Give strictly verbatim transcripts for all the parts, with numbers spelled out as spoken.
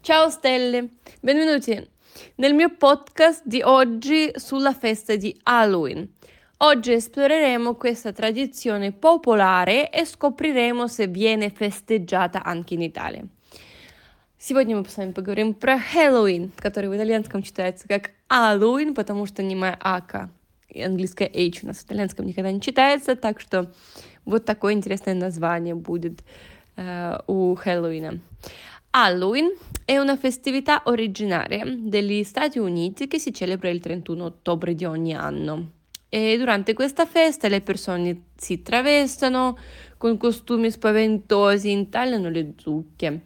Ciao stelle, benvenuti nel mio podcast di oggi sulla festa di Halloween. Oggi esploreremo questa tradizione popolare и scopriremo se viene festeggiata anche in Italia. Сегодня мы с вами поговорим про Хэллоуин, который в итальянском читается как Halloween, потому что немая ака и английская H у нас в итальянском никогда не читается, так что вот такое интересное название будет э, у Хэллоуина. Halloween è una festività originaria degli Stati Uniti che si celebra il trentuno ottobre di ogni anno. E durante questa festa le persone si travestono con costumi spaventosi, intagliano le zucche.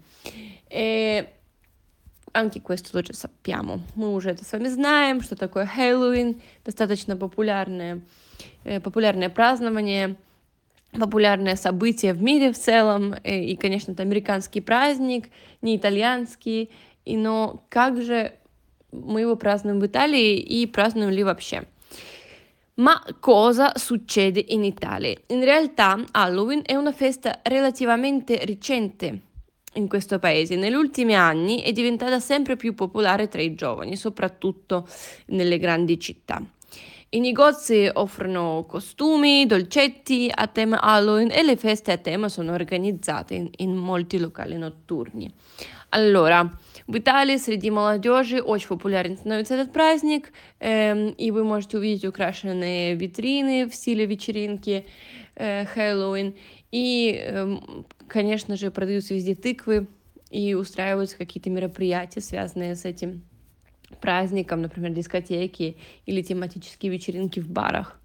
E anche questo lo già sappiamo. Мы уже это с вами знаем, что такое Хэллоуин. Достаточно популярное, э, популярное празднование, популярное событие в мире в целом. э, И, конечно, это американский праздник, не итальянский. И, но как же мы его празднуем в Италии и празднуем ли вообще? Ma cosa succede in Italia? In realtà Halloween è una festa relativamente recente in questo paese. Negli ultimi anni è diventata sempre più popolare tra i giovani, soprattutto nelle grandi città. I negozi offrono costumi, dolcetti a tema Halloween e le feste a tema sono organizzate in, in molti locali notturni. Allora, в Италии среди молодежи очень популярен становится этот праздник, эм, и вы можете увидеть украшенные витрины в стиле вечеринки э, Хэллоуин. И, эм, конечно же, продаются везде тыквы и устраиваются какие-то мероприятия, связанные с этим праздником, например, дискотеки или тематические вечеринки в барах.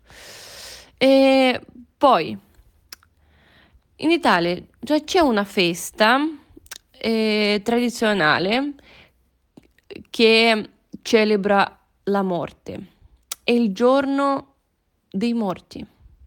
E poi, in Italia già c'è una festa eh, tradizionale che celebra la morte. È il giorno dei morti.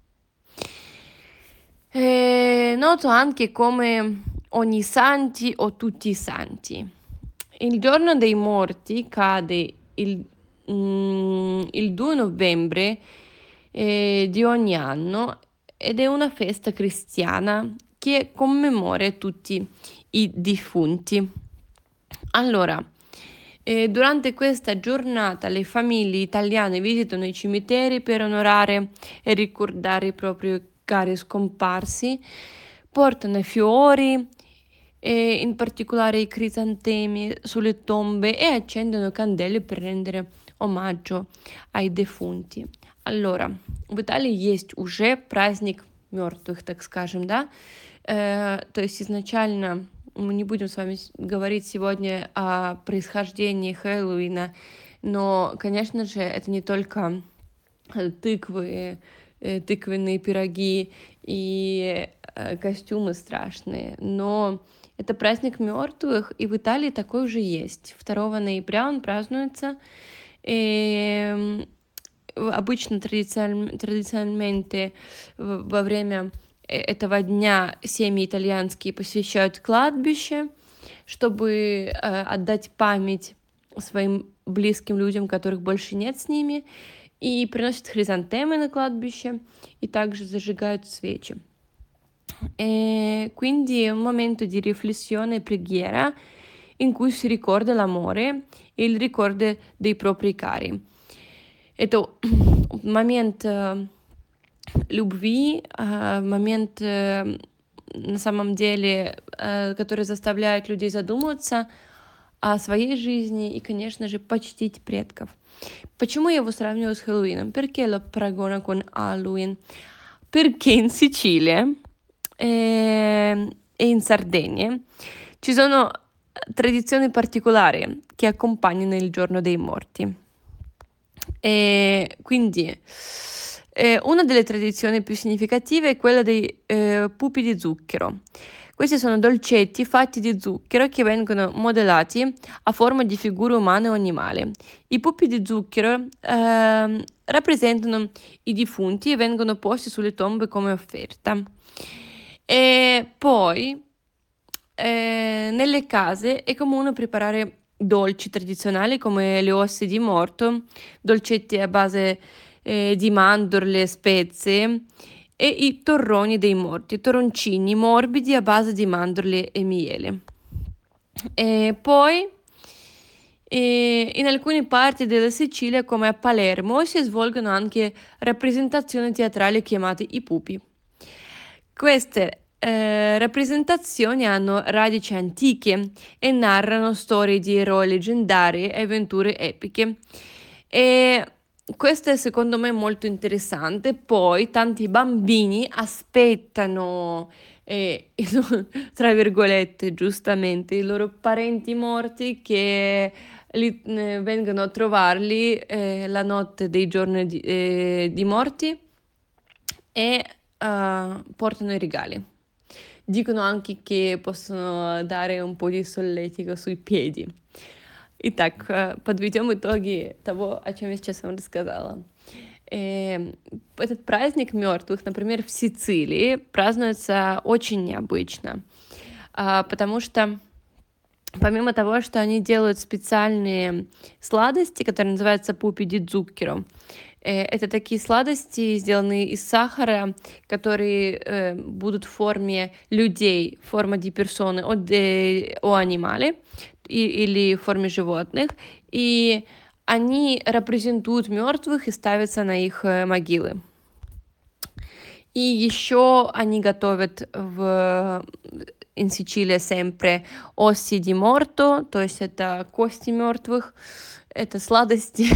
È noto anche come ogni santi o tutti i santi. Il giorno dei morti cade il, mm, il due novembre eh, di ogni anno ed è una festa cristiana che commemora tutti i defunti. Allora, eh, durante questa giornata le famiglie italiane visitano i cimiteri per onorare e ricordare i propri cari scomparsi, portano fiori, e in particolare i crisantemi sulle tombe e accendono candele per rendere omaggio ai defunti. Allora, в Италии есть уже праздник мертвых, так скажем, да? Э, то есть изначально мы не будем с вами говорить сегодня о происхождении Хэллоуина, но, конечно же, это не только тыквы, э, тыквенные пироги и э, костюмы страшные, но это праздник мертвых, и в Италии такой уже есть. второго ноября он празднуется. И обычно традицион- традициональmente во время этого дня семьи итальянские посещают кладбище, чтобы э, отдать память своим близким людям, которых больше нет с ними, и приносят хризантемы на кладбище, и также зажигают свечи. E quindi è un momento di riflessione e preghiera in cui si ricorda l'amore e il ricordo dei propri cari. Это момент э, любви, э, момент э, на самом деле, э, который заставляет людей задуматься о своей жизни и, конечно же, почтить предков. Почему я его сравниваю с Хэллоуином? Perché lo paragono con Halloween? Perché in Sicilia e e in Sardegna ci sono tradizioni particolari che accompagnano il giorno dei morti. E quindi eh, una delle tradizioni più significative è quella dei eh, pupi di zucchero. Questi sono dolcetti fatti di zucchero che vengono modellati a forma di figure umane o animali. I pupi di zucchero ehm, rappresentano i defunti e vengono posti sulle tombe come offerta. E poi eh, nelle case è comune preparare dolci tradizionali come le ossa di morto, dolcetti a base eh, di mandorle e spezie e i torroni dei morti, torroncini morbidi a base di mandorle e miele. E poi E in alcune parti della Sicilia, come a Palermo, si svolgono anche rappresentazioni teatrali chiamate i pupi. Queste eh, rappresentazioni hanno radici antiche e narrano storie di eroi leggendari e avventure epiche. E questo è secondo me molto interessante. Poi tanti bambini aspettano, eh, i loro- tra virgolette, giustamente, i loro parenti morti che li, eh, vengono a trovarli eh, la notte dei giorni di, eh, di morti e eh, portano i regali. Dicono anche che possoно dare un по соlletico sui piedi. Итак, э, подведем итоги того, о чем я сейчас вам рассказала. Э, Этот праздник мертвых, например, в Сицилии празднуется очень необычно, а, потому что помимо того, что они делают специальные сладости, которые называются пупи ди зуккеро, э, это такие сладости, сделанные из сахара, которые э, будут в форме людей, форма di persone o, de, o animali, и- или в форме животных, и они репрезентуют мертвых и ставятся на их э, могилы. И еще они готовят в in Sicilia sempre ossi di morto, то есть это кости мертвых, это сладости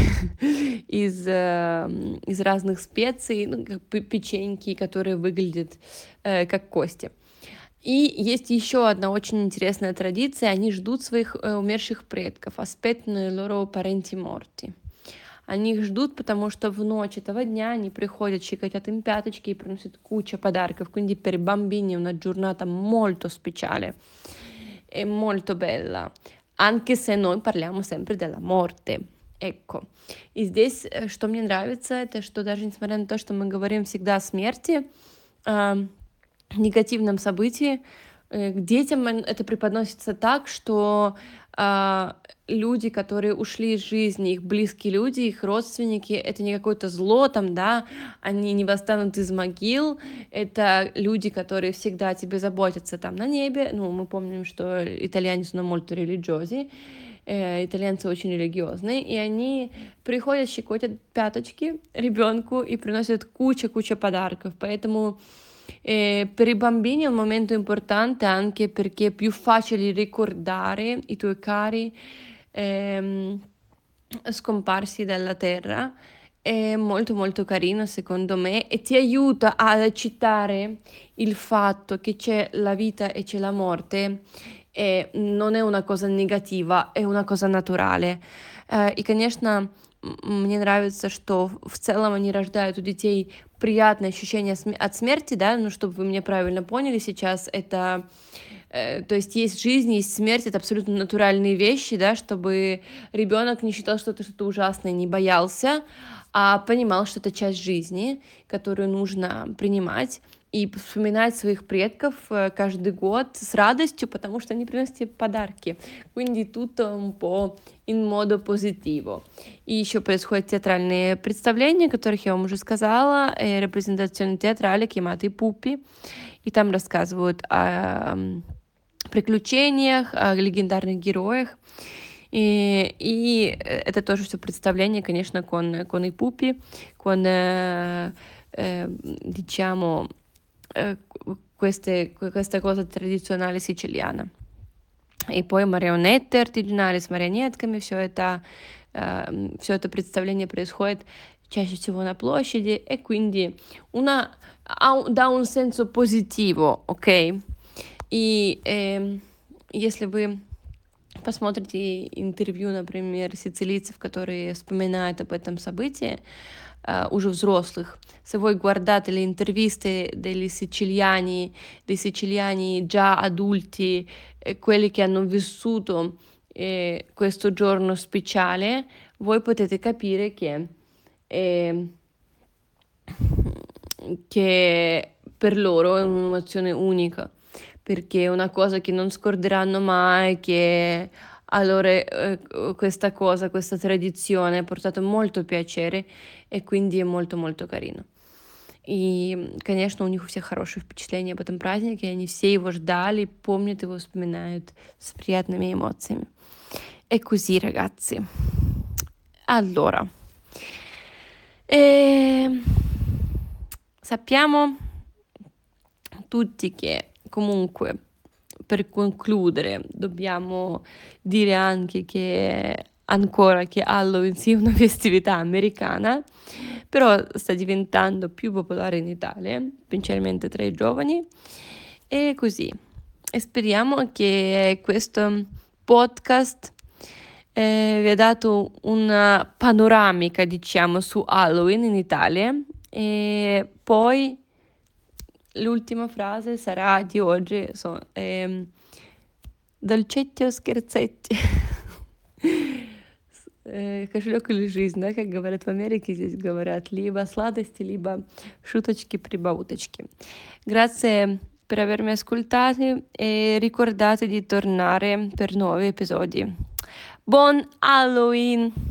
из, э, из разных специй, ну, как пе- печеньки, которые выглядят э, как кости. И есть еще одна очень интересная традиция. Они ждут своих э, умерших предков, aspettano i loro parenti morti. Они их ждут, потому что в ночь этого дня они приходят, щекотят им пяточки и приносят кучу подарков. Quindi per i bambini è una giornata molto speciale e molto bella, anche se noi parliamo sempre della morte. Ecco. И здесь, э, что мне нравится, это что даже несмотря на то, что мы говорим всегда о смерти, а, негативном событии, э, к детям эн- это преподносится так, что а, люди, которые ушли из жизни, их близкие люди, их родственники, это не какое-то зло там, да, они не восстанут из могил, это люди, которые всегда о тебе заботятся там на небе. Ну, мы помним, что итальяне sono molto religiosi, э, итальянцы очень религиозные, и они приходят, щекотят пяточки ребенку и приносят куча-куча подарков. Поэтому eh, per i bambini è un momento importante anche perché è più facile ricordare i tuoi cari ehm, scomparsi dalla terra. È molto molto carino secondo me e ti aiuta ad accettare il fatto che c'è la vita e c'è la morte e non è una cosa negativa, è una cosa naturale. Э, И, конечно, м, мне нравится, что в целом они рождают у детей приятное ощущение сме- от смерти, да, ну, чтобы вы меня правильно поняли сейчас, это, э, то есть есть жизнь, есть смерть, это абсолютно натуральные вещи, да, чтобы ребенок не считал, что это что-то ужасное, не боялся, а понимал, что это часть жизни, которую нужно принимать и вспоминать своих предков э, каждый год с радостью, потому что они приносят тебе подарки. Quindi tutto un po' in modo positivo. И еще происходят театральные представления, о которых я вам уже сказала, э, репрезентационные театрали, chiamate пупи, и там рассказывают о м, приключениях, о легендарных героях. И, и э, это тоже все представление, конечно, con, con i pupi, con, eh, eh, diciamo, eh, queste, questa cosa tradizionale siciliana. И poi марионетты оригинали с марионетками, все это, все это представление происходит чаще всего на площади, e quindi una, ha un- dà un senso positivo, ok? И эм, если вы посмотрите интервью, например, сицилийцев, которые вспоминают об этом событии, eh, уже взрослых, se voi guardate le interviste degli siciliani, dei siciliani già adulti, eh, quelli che hanno vissuto eh, questo giorno speciale, voi potete capire che, eh, che per loro è un'emozione unica, perché è una cosa che non scorderanno mai, che a loro eh, questa cosa, questa tradizione ha portato molto piacere и quindi è molto molto carino. И, конечно, у них у всех хорошие впечатления об этом празднике, они все его ждали, помнят его, вспоминают с приятными эмоциями. è così, ragazzi. Allora, ehm, sappiamo tutti che comunque per concludere dobbiamo dire anche che ancora che Halloween sia una festività americana, però sta diventando più popolare in Italia, principalmente tra i giovani, e così. E speriamo che questo podcast eh, vi ha dato una panoramica, diciamo, su Halloween in Italia. E poi l'ultima frase sarà di oggi, so, ehm, dolcetti o scherzetti. Э, Кошелек или жизнь, да, как говорят в Америке, здесь говорят либо сладости, либо шуточки-прибауточки. Grazie per avermi ascoltati e ricordate di tornare per nuovi episodi. Buon Halloween!